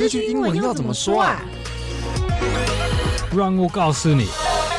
這句英文要怎麼說啊？ 讓我告訴你。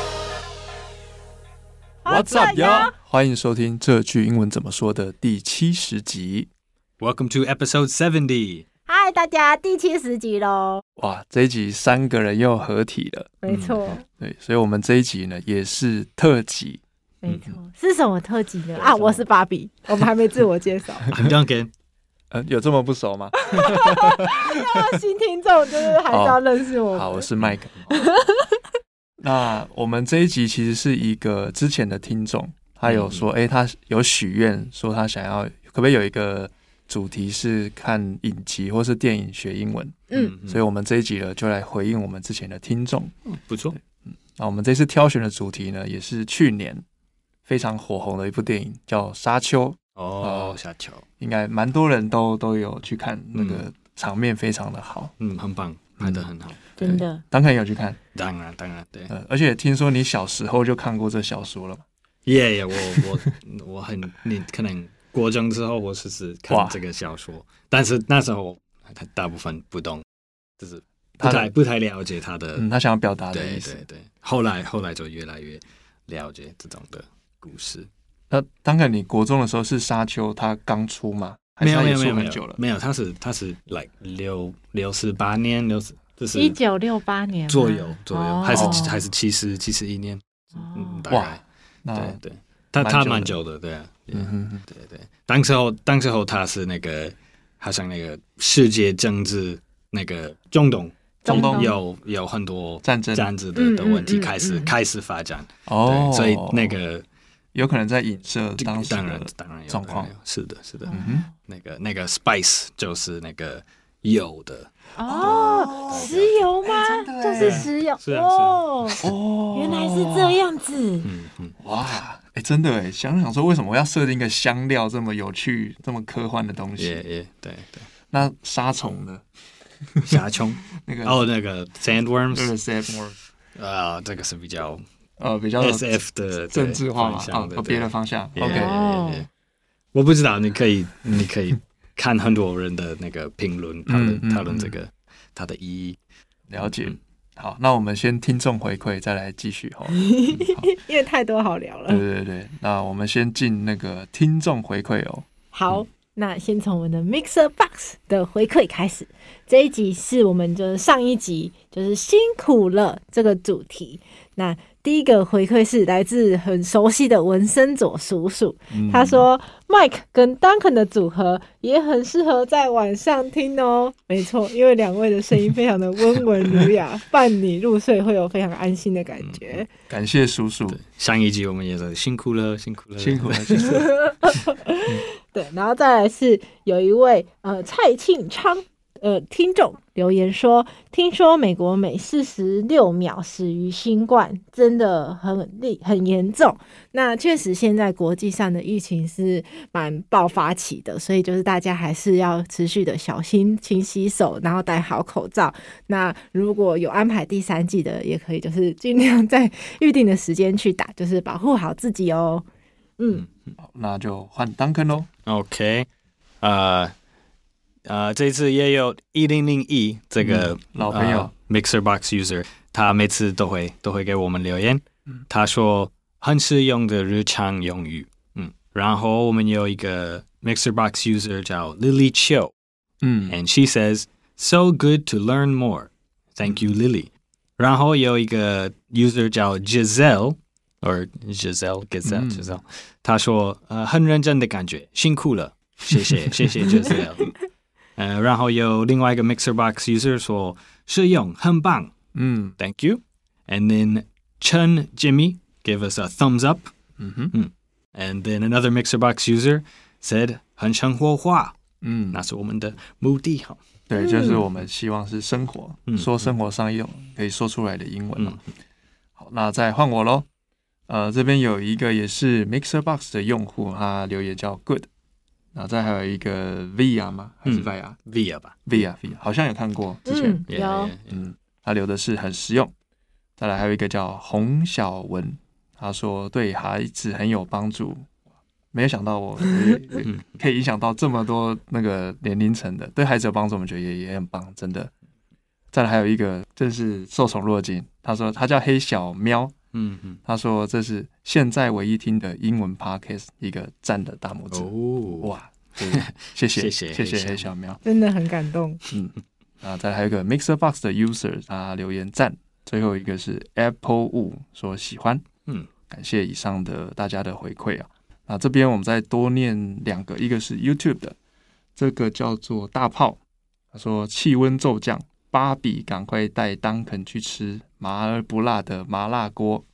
What's up, y'all？ 歡迎收聽這句英文怎麼說的第70集。 Welcome to episode 70. 嗨，大家，第70集嘍！ 哇，這一集3個人又合體了。 沒錯。 對，所以我們這一集呢也是特輯。 沒錯，是什麼特輯呢？啊，我是芭比，我們還沒自我介紹。 I'm Duncan。 有這麼不熟嗎？ 要新聽眾就是還是要認識我們。 好，我是 Mike。那我們這一集其實是一個之前的聽眾，他有說，他有許願說他想要，可不可以有一個主題是看影集或是電影學英文？所以我們這一集呢就來回應我們之前的聽眾。 不錯。 那我們這次挑選的主題呢，也是去年非常火紅的一部電影，叫《沙丘》。 沙丘應該蠻多人都有去看，那個場面非常的好， 很棒，拍得很好， 真的。 當然有去看， 當然，对。 而且聽說你小時候就看過這小說了嘛？ 我你可能國中之後我是看這個小說，但是那時候大部分不懂，就是不太了解他的， 他想要表達的意思。 对。后来就越来越了解這種的故事。 那當然，你國中的時候是沙丘，它剛出嗎？ 沒有，它是like 68年就是 1968年左右，還是71年，大概。对，他蠻久的，對啊，对。當時候他是那個好像那個世界政治那個中東有很多戰爭的問題開始發展，所以那個。 有可能在影射當時的狀況， 是的，那個 spice 就是那個油的石油嗎？就是石油，原來是這樣子， 哇，真的想說為什麼我要設定一個香料這麼有趣、這麼科幻的東西？ 對。 那沙蟲呢？ 沙蟲那個 sandworms， 這個是比較 SF 的政治化嘛，別的方向。 OK， 我不知道，你可以看很多人的那個評論，討論這個它的意義。 了解。好，那我們先聽眾回饋，再來繼續因為太多好聊了。 對，那我們先進那個聽眾回饋哦。 好。那先從我們的 Mixer Box 的回饋開始，這一集是我們就是上一集就是辛苦了這個主題。那第一個回饋是來自很熟悉的文森佐叔叔，他說 Mike 跟 Duncan 的組合也很適合在晚上聽哦。沒錯，因為兩位的聲音非常的溫文儒雅，伴你入睡會有非常安心的感覺。 感謝叔叔。 上一集我們也是辛苦了。 对，然後再來是有一位蔡慶昌聽眾留言說，聽說美國每46秒死於新冠，真的很嚴重。那確實現在國際上的疫情是蠻爆發期的，所以就是大家還是要持續的小心，勤洗手，然後戴好口罩。那如果有安排第3劑的，也可以就是盡量在預定的時間去打，就是保護好自己哦。 好，那就換 Duncan 咯。 OK， 這次也有1001這個老朋友 Mixer Box user， 他每次都會給我們留言。他說很實用的日常用語。然後我們有一個 Mixer Box user 叫 Lily Chiu，and she says so good to learn more. Thank you, Lily. 然後有一個 user 叫 Giselle。Or Giselle， 他說很認真的感覺，辛苦了，謝謝 Giselle。然後有另外一個 Mixer Box user 說實用，很棒，Thank you。And then Chen Jimmy gave us a thumbs up。And then another Mixer Box user said 很生活化，那是我們的目的哈。 對，就是我們希望是生活，說生活上用可以說出來的英文。好，那再換我咯。這邊有一個也是 Mixer Box 的用戶，他留言叫 Good， 然後再還有一個 Via 嗎？還是 Via 吧 ？Via 好像有看過之前， 有， 他留的是很實用。再來還有一個叫洪小文，他說對孩子很有幫助，沒有想到我可以影響到這麼多那個年齡層的，對孩子有幫助，我們覺得也很棒，真的。 再來還有一個，這是受寵若驚，他說他叫黑小喵，他說這是現在唯一聽的英文 podcast， 一個讚的大拇指。哇，謝謝黑小喵， 真的很感動。 再來還有一個 Mixer Box 的 user， 他留言讚。最後一個是 Apple Wu 說喜歡，感謝以上的大家的回饋啊。那這邊我們再多念2個，一個是 YouTube 的，這個叫做大炮，他說氣溫驟降，芭比趕快帶Duncan去吃麻而不辣的麻辣鍋。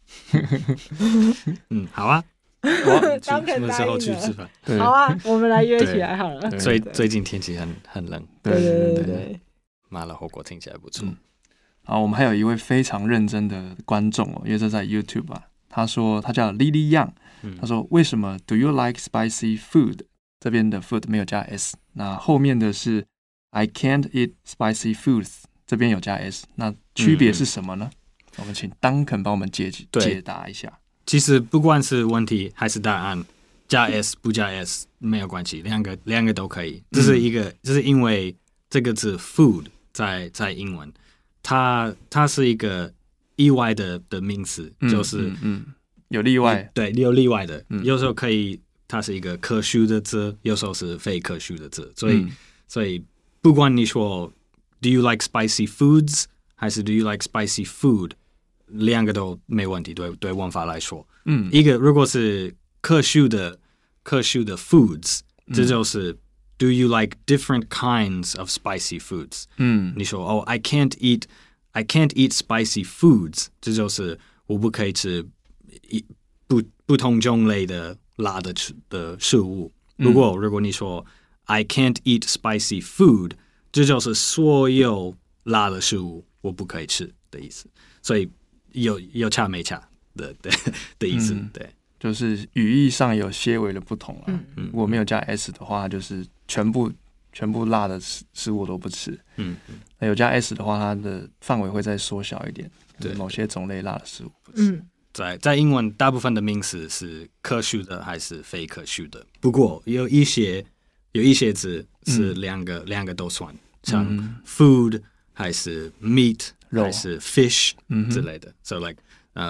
好啊，什麼時候去吃飯？ 好啊，我們來約起來好了。 最近天气很冷， 对， 麻辣火鍋听起來不錯。 好，我們還有一位非常認真的觀眾因為這在 YouTube 啊，他說他叫 Lily Young，他說為什麼 Do you like spicy food？ 這邊的 food 沒有加 s， 那後面的是 I can't eat spicy foods， 這邊有加 s， 那區別是什麼呢？我們請 Duncan 幫我們解答一下。 其實不管是問題還是答案，加 s 不加 s 沒有關係，兩個都可以。這是因為這個字 food 在英文。它是一個意外的名詞，就是有例外， 對，有例外的，有時候可以，它是一個可數的字，有時候是非可數的字，所以不管你說 Do you like spicy foods 還是 Do you like spicy food， 兩個都沒問題，對文法來說，一個如果是可數的 foods， 這就是。Do you like different kinds of spicy foods？ 你說I can't eat spicy foods， 這就是我不可以吃不同種類的辣的食物。如果你說I can't eat spicy food， 這就是所有辣的食物我不可以吃的意思。所以有差沒差的意思，對。 就是語義上有些微的不同啦。如果沒有加 s 的話，就是全部辣的食物我都不吃。那有加 s 的話，它的範圍會再縮小一點，就是某些種類辣的食物不吃。 在英文，大部分的名詞是可數的還是非可數的？不過有一些字是兩個都算，像 food 還是 meat 還是 fish 之類的。So like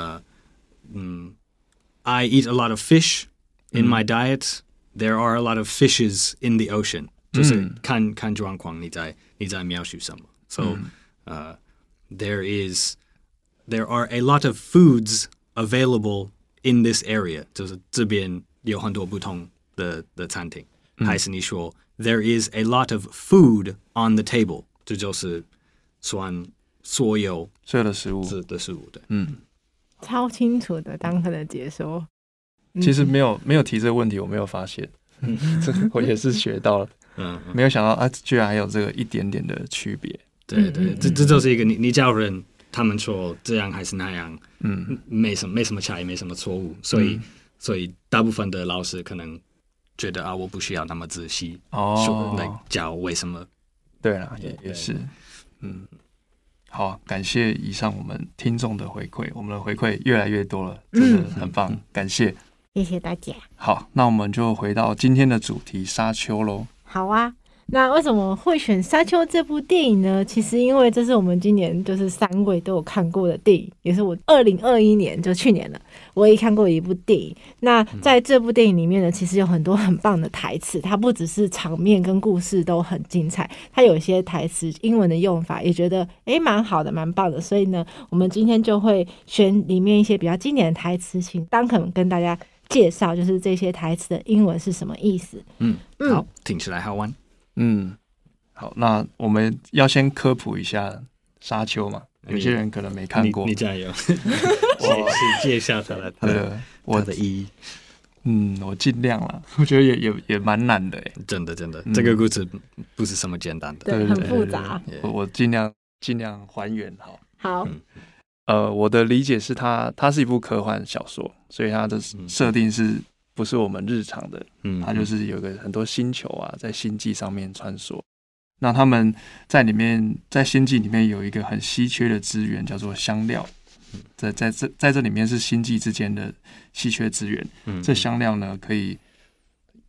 I eat a lot of fish in my diet. There are a lot of fishes in the ocean. 就是看狀況，你在描述什麼。So, there are a lot of foods available in this area. 就是這邊有很多不同的餐廳。還是你說 there is a lot of food on the table， 這就是算所有的食物對。 超清楚的Duncan的解說。 其實沒有提這個問題，我沒有發現，這我也是學到了。沒有想到居然還有這個一點點的區別。 對，這就是一個你教人，他們說這樣還是那樣，沒什麼差異，沒什麼錯誤，所以大部分的老師可能覺得我不需要那麼仔細來教為什麼。 對啦，也是，好，感謝以上我們聽眾的回饋，我們的回饋越來越多了，真的很棒，感謝， 謝謝大家。 好，那我們就回到今天的主題沙丘咯。 好啊，那為什麼會選《沙丘》這部電影呢？其實因為這是我們今年就是3位都有看過的電影，也是我2021年就去年了唯一看過一部電影。那在這部電影裡面呢，其實有很多很棒的台詞，它不只是場面跟故事都很精彩，它有一些台詞英文的用法也覺得蠻好的，蠻棒的。所以呢，我們今天就會選裡面一些比較經典的台詞，請Duncan跟大家介紹，就是這些台詞的英文是什麼意思。 好，聽起來好玩。 好，那我們要先科普一下沙丘嘛，有些人可能沒看過。 你加油，介紹它的意義。 我盡量啦，我覺得也蠻難的。 真的，這個故事不是什麼簡單的， 對，很複雜。 我盡量還原。 好。 我的理解是它是一部科幻小說，所以它的設定是不是我們日常的？它就是有個很多星球啊，在星際上面穿梭。那他們在星際裡面有一個很稀缺的資源，叫做香料。在這裡面是星際之間的稀缺資源。這香料呢，可以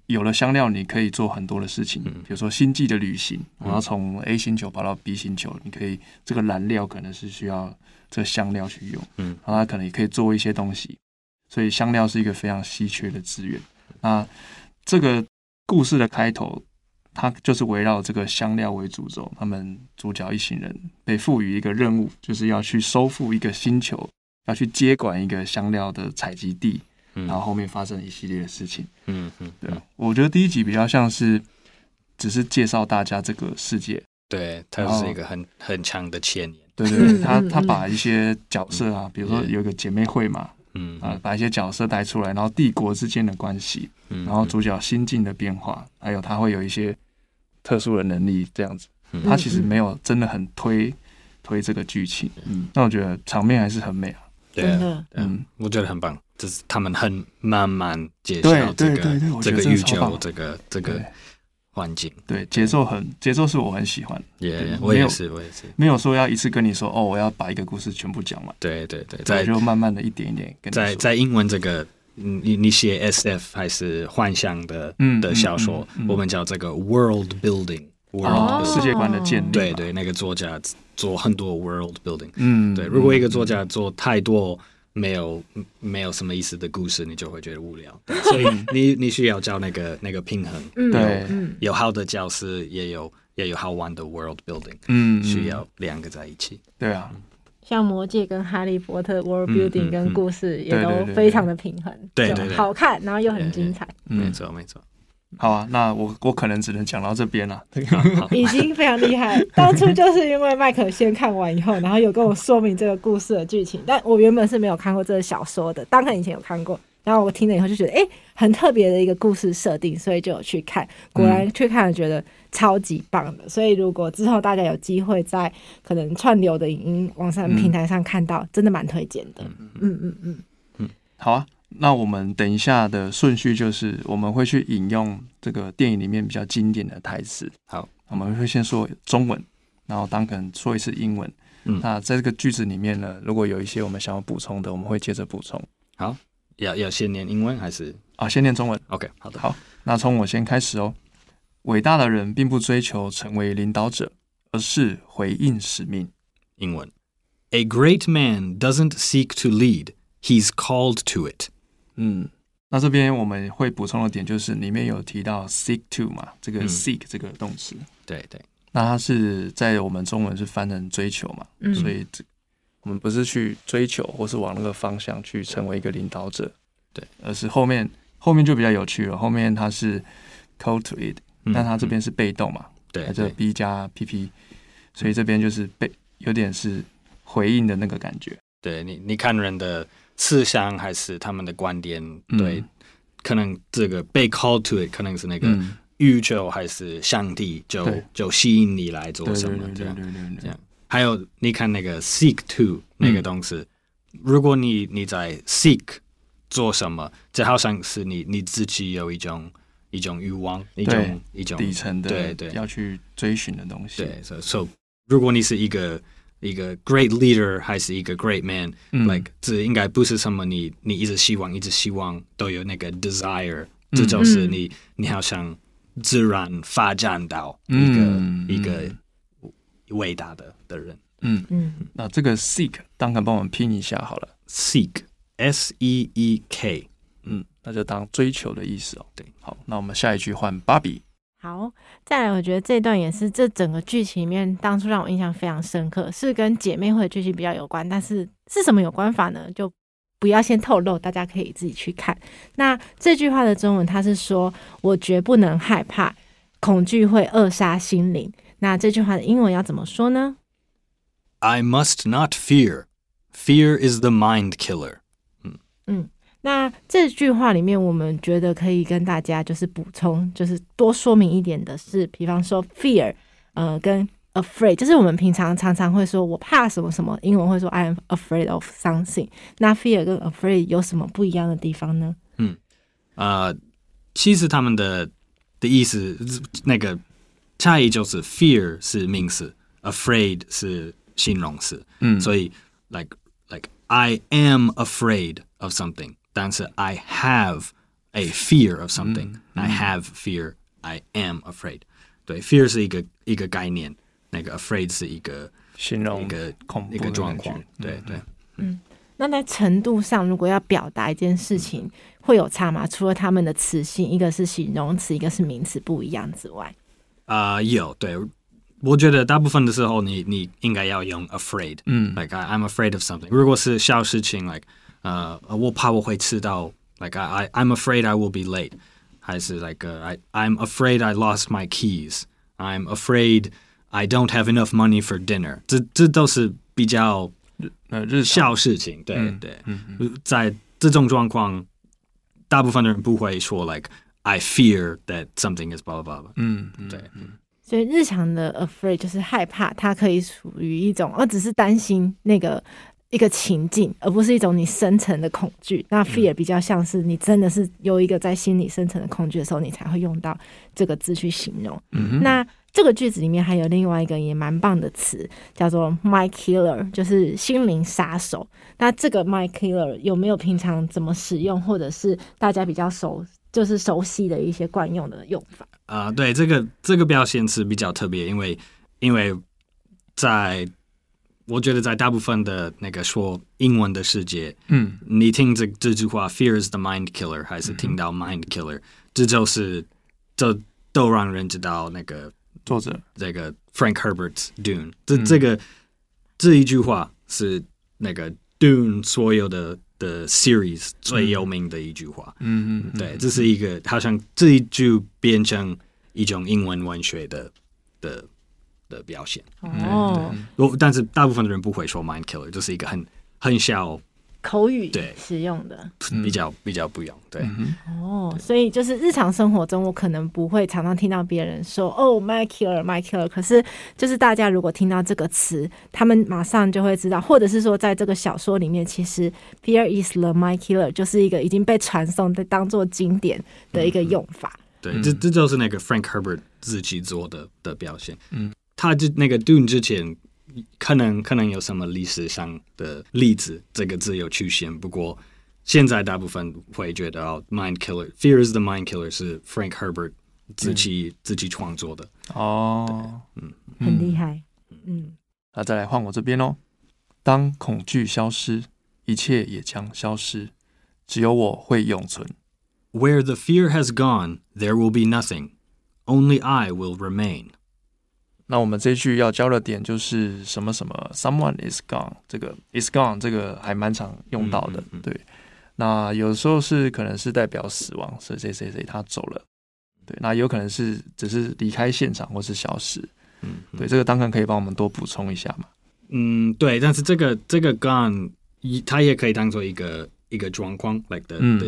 有了香料，你可以做很多的事情，比如說星際的旅行，我要從 A 星球跑到 B 星球，你可以這個燃料可能是需要這個香料去用，然後它可能也可以做一些東西，所以香料是一個非常稀缺的資源。那這個故事的開頭，它就是圍繞這個香料為主軸，他們主角一行人被賦予一個任務，就是要去收復一個星球，要去接管一個香料的採集地。然後後面發生一系列的事情，對，我覺得第一集比較像是只是介紹大家這個世界， 對，它是一個很強的前言， 對對，他把一些角色啊，比如說有一個姐妹會嘛，把一些角色帶出來，然後帝國之間的關係，然後主角心境的變化，還有他會有一些特殊的能力這樣子，他其實沒有真的很推這個劇情，那我覺得場面還是很美啊， 對，我覺得很棒。就是他們很慢慢介紹這個宇宙，這個環境，對， 節奏是我很喜歡的， 我也是， 沒有說要一次跟你說我要把一個故事全部講完， 對， 就慢慢的一點一點跟你說。 在英文這個你寫 SF 還是幻想的小說，我們叫這個 world building， 世界觀的建立， 對，那個作家做很多 world building，對，如果一個作家做太多沒有什麼意思的故事，你就会觉得无聊。所以你需要找那个平衡， 对， 有好的角色，也有好玩的 world building，需要两个在一起。 对啊， 像魔戒跟哈利波特 world building 跟故事也都非常的平衡， 对， 好看，然后又很精彩。 没错。 好啊，那我可能只能講到這邊了， 已經非常厲害。當初就是因為麥克先看完以後，然後有跟我說明這個故事的劇情，但我原本是沒有看過這個小說的，當然以前有看過，然後我聽了以後就覺得很特別的一個故事設定，所以就有去看，果然去看了覺得超級棒的。所以如果之後大家有機會在可能串流的影音網上平台上看到，真的蠻推薦的。 好啊。那我們等一下的順序就是我們會去引用這個電影裡面比較經典的台詞。 好， 我們會先說中文，然後Duncan說一次英文。那在這個句子裡面呢，如果有一些我們想要補充的，我們會接着補充。 好，要先念英文還是先念中文 ？OK， 好的。 好，那從我先開始哦。偉大的人並不追求成為領導者，而是回應使命。 英文 ：A great man doesn't seek to lead, he's called to it。 那這邊我們會補充的點就是裡面有提到 seek to 嘛，這個 seek 這個動詞， 對， 那它是在我們中文是翻成追求嘛，所以我們不是去追求或是往那個方向去成為一個領導者，對，而是後面就比較有趣了，後面它是 call to it，但它這邊是被動嘛，對，這 B 加 PP，所以這邊就是有點是回應的那個感覺， 對，你看人的思想還是他們的觀點，對，可能這個被 call to it 可能是那個宇宙還是上帝就吸引你來做什麼這樣。還有你看那個 seek to 那個東西，如果你在 seek 做什麼，這好像是你自己有一種慾望，一種底層的對要去追尋的東西。 對，所以如果你是一個 great leader 還是一個 great man，like 這應該不是什麼你一直希望都有那個 desire，這就是你好像自然發展到一個偉大的人。 那這個 seek 當然幫我們拼一下好了 ，seek S-E-E-K， 那就當追求的意思哦。對，好，那我們下一句換芭比。 好，再來，我覺得這段也是這整個劇情裡面當初讓我印象非常深刻，是跟姐妹會的劇情比較有關，但是什麼有關法呢？就不要先透露，大家可以自己去看。那這句話的中文它是說，我絕不能害怕，恐懼會扼殺心靈。那這句話的英文要怎麼說呢？ I must not fear. Fear is the mind killer. 那這句話裡面，我們覺得可以跟大家就是補充，就是多說明一點的是，比方說 fear，跟 afraid，就是我們平常常會說我怕什麼什麼，英文會說 I am afraid of something。那 fear 跟 afraid 有什麼不一樣的地方呢？ 其實他們的意思那個差異就是 fear 是名詞 ，afraid 是形容詞。所以 like I am afraid of something。但是 I have a fear of something. I have fear. I am afraid. 对 ，fear 是一个概念，那个 afraid 是一个形容一个状况。对对。 那在程度上，如果要表达一件事情，会有差吗？除了他們的詞性，一個是形容詞，一個是名詞不一樣之外， 有對，我覺得大部分的時候你應該要用 afraid，like I'm afraid of something。如果是小事情 ，like 我怕我會遲到 ，like I'm afraid I will be late， 還是 like I'm afraid I lost my keys，I'm afraid I don't have enough money for dinner。這都是比較小事情，對對，在這種狀況，大部分的人不會說 like I fear that something is blah blah blah。對。 所以日常的 afraid 就是害怕，它可以屬於一種，只是擔心那個一個情境，而不是一種你深層的恐懼。那 fear 比較像是你真的是有一個在心裡深層的恐懼的時候，你才會用到這個字去形容。那這個句子裡面還有另外一個也蠻棒的詞，叫做 mind killer， 就是心靈殺手。那這個 mind killer 有沒有平常怎麼使用，或者是大家比較熟悉的一些慣用的用法？ 對，這個表現是比較特別，因為我覺得在大部分的那個說英文的世界，你聽這句話 fear is the mind killer， 還是聽到 mind killer， 這都讓人知道那個作者這個 Frank Herbert's Dune， 這一句話是那個 Dune 所有的 series 最有名的一句話。對，這是一個好像這一句變成一種英文文學的表現。但是大部分的人不會說 mind killer， 這是一個很小口語使用的， 比較不用。對， 所以就是日常生活中，我可能不會常常聽到別人說mind killer， 可是就是大家如果聽到這個詞，他們馬上就會知道，或者是說在這個小說裡面，其實 fear is the mind killer 就是一個已經被傳送的當作經典的一個用法。 對，這就是那個 Frank Herbert 自己做的表現。他就那個 Dune 之前可能有什麼歷史上的例子，這個字有出現，不過現在大部分會覺得mind killer fear is the mind killer 是 Frank Herbert 自己創作的。 很厲害。 那再來換我這邊哦。當恐懼消失，一切也將消失，只有我會永存。 Where the fear has gone, there will be nothing. Only I will remain. 那我們這句要教的點就是什麼什麼 someone is gone， 這個 is gone 這個還蠻常用到的。對，那有時候是可能是代表死亡，誰他走了。對，那有可能是只是離開現場或是消失。對，這個Duncan可以幫我們多補充一下嗎？ 對，但是這個 gone 它也可以當做一個狀況 like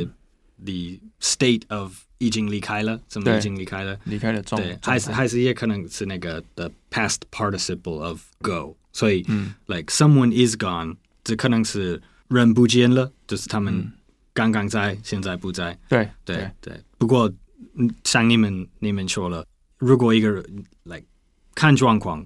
the state of 已經離開了，怎麼已經離開了？離開了狀態，還是也可能是那個 the past participle of go， 所以like someone is gone， 這可能是人不見了，就是他們剛剛在，現在不在。對。不過像你們說了，如果一個人 like 看狀況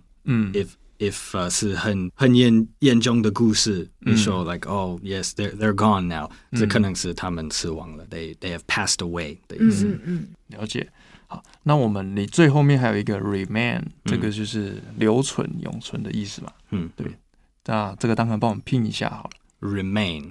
，if 是很嚴重的故事，你說 like oh yes they're gone now，這可能是他們死亡了，they have passed away 的意思。 了解。好，那你最後面還有一個 remain，這個就是留存、永存的意思嘛？對。那這個當然幫我們拼一下好了。 Remain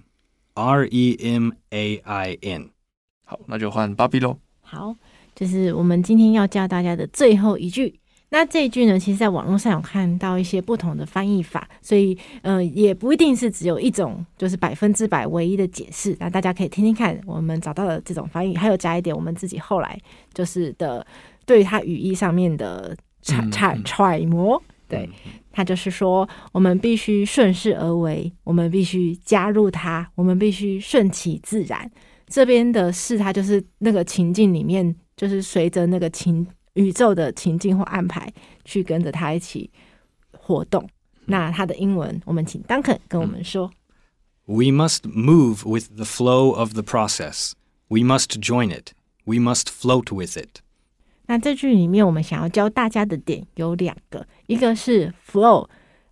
REMAIN。 好，那就換芭比嘍。 好，就是我們今天要教大家的最後一句。那這一句呢，其實在網絡上有看到一些不同的翻譯法，所以也不一定是只有一種就是100%唯一的解釋。那大家可以聽聽看，我們找到的這種翻譯，還有加一點我們自己後來就是的對於它語義上面的揣摩。對，它就是說我們必須順勢而為，我們必須加入它，我們必須順其自然。這邊的是它就是那個情境裡面，就是隨着那個宇宙的情境或安排去跟着他一起活動。那他的英文我們請 Duncan 跟我們說。 We must move with the flow of the process. We must join it. We must float with it. 那這句裡面我們想要教大家的點有2個，一個是 flow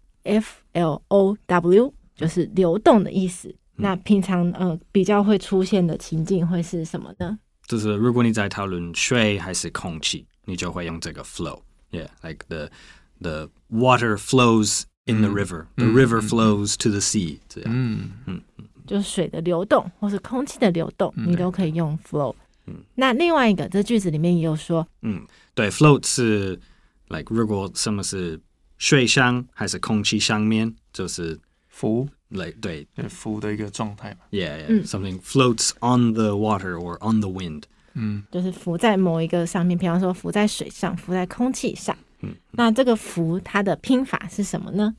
FLOW 就是流動的意思。那平常比較會出現的情境會是什麼呢？ 就是如果你在討論水還是空氣，你就會用這個 flow. Yeah, like the water flows in the river. The river flows to the sea. 這樣。 就是水的流動或是空氣的流動，你都可以用 flow。那另外一個，這句子裡面也有說， 對 ，float 是 like 如果什麼是水上還是空氣上面，就是浮， 对， 浮的一個狀態嘛。 Yeah, something floats on the water or on the wind. 就是浮在某一個上面，比方說浮在水上，浮在空氣上。那這個浮它的拼法是什麼呢？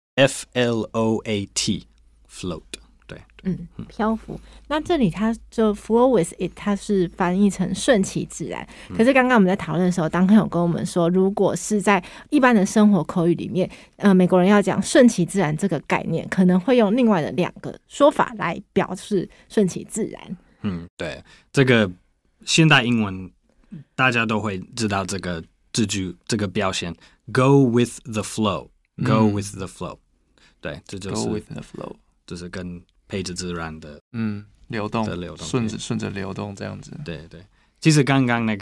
Float, float. 對， 漂浮。那這裡它就 flow with it， 它是翻譯成順其自然。可是剛剛我們在討論的時候，當課有跟我們說，如果是在一般的生活口語裡面，美國人要講順其自然這個概念，可能會用另外的2個說法來表示順其自然。 對，這個現代英文大家都會知道這個字句，這個表現 ，go with the flow，go with the flow。对，這就是 go with the flow， 就是跟配着自然的流動，順着流動這樣子。 對，其實剛剛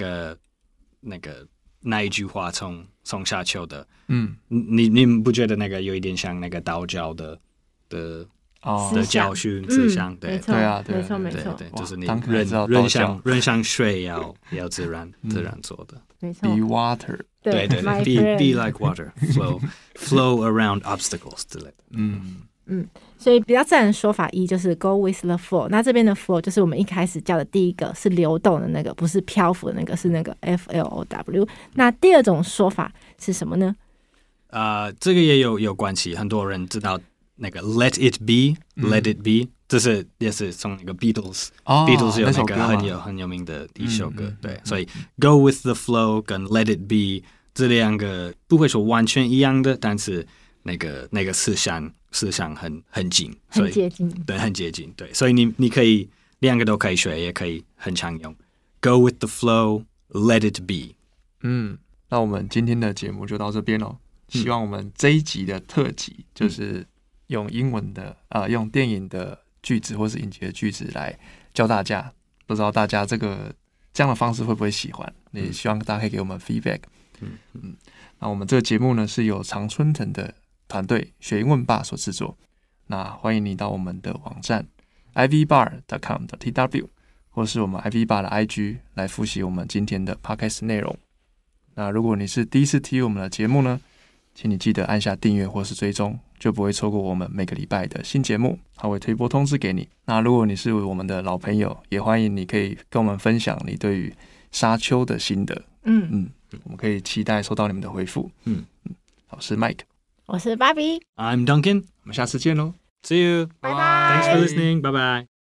那一句話從下丘的，你們不覺得那個有一點像那個道教的教訓思想？對， 對啊，沒錯， 就是你人像水要自然做的。 沒錯 ，be water， 對 ，be like water，flow around obstacles 之類的。 所以比較自然的說法一就是 go with the flow。那這邊的 flow 就是我們一開始教的第一個，是流動的那個，不是漂浮的那個，是那個 flow。那第二種說法是什麼呢？ 這個也有關係，很多人知道那個 let it be，let it be，這也是從那個 Beatles 有那個很有名的一首歌，對，所以 go with the flow 跟 let it be 這2個不會說完全一樣的，但是那個思想很近， 很接近， 对，很接近，对，所以你可以2個都可以學，也可以很常用 go with the flow let it be。 那我們今天的節目就到這邊咯。希望我們這一集的特輯就是用英文的用電影的句子或是影集的句子來教大家，不知道大家這樣的方式會不會喜歡，也希望大家可以給我們 feedback。那我們這個節目呢是由常春藤的團隊學英文吧所製作。那歡迎你到我們的網站 ivbar.com.tw 或是我們 ivbar 的 IG 來複習我們今天的 podcast 內容。那如果你是第一次聽我們的節目呢，請你記得按下訂閱或是追蹤，就不會錯過我們每個禮拜的新節目，它會推播通知給你。那如果你是我們的老朋友，也歡迎你可以跟我們分享你對於沙丘的心得。我們可以期待收到你們的回復。我是 Mike， 我是 Bobby， I'm Duncan， 我們下次見嘍 ，See you， 拜拜 ，Thanks for listening， 拜拜。